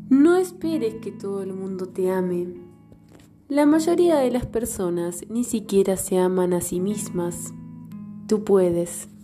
No esperes que todo el mundo te ame. La mayoría de las personas ni siquiera se aman a sí mismas. Tú puedes.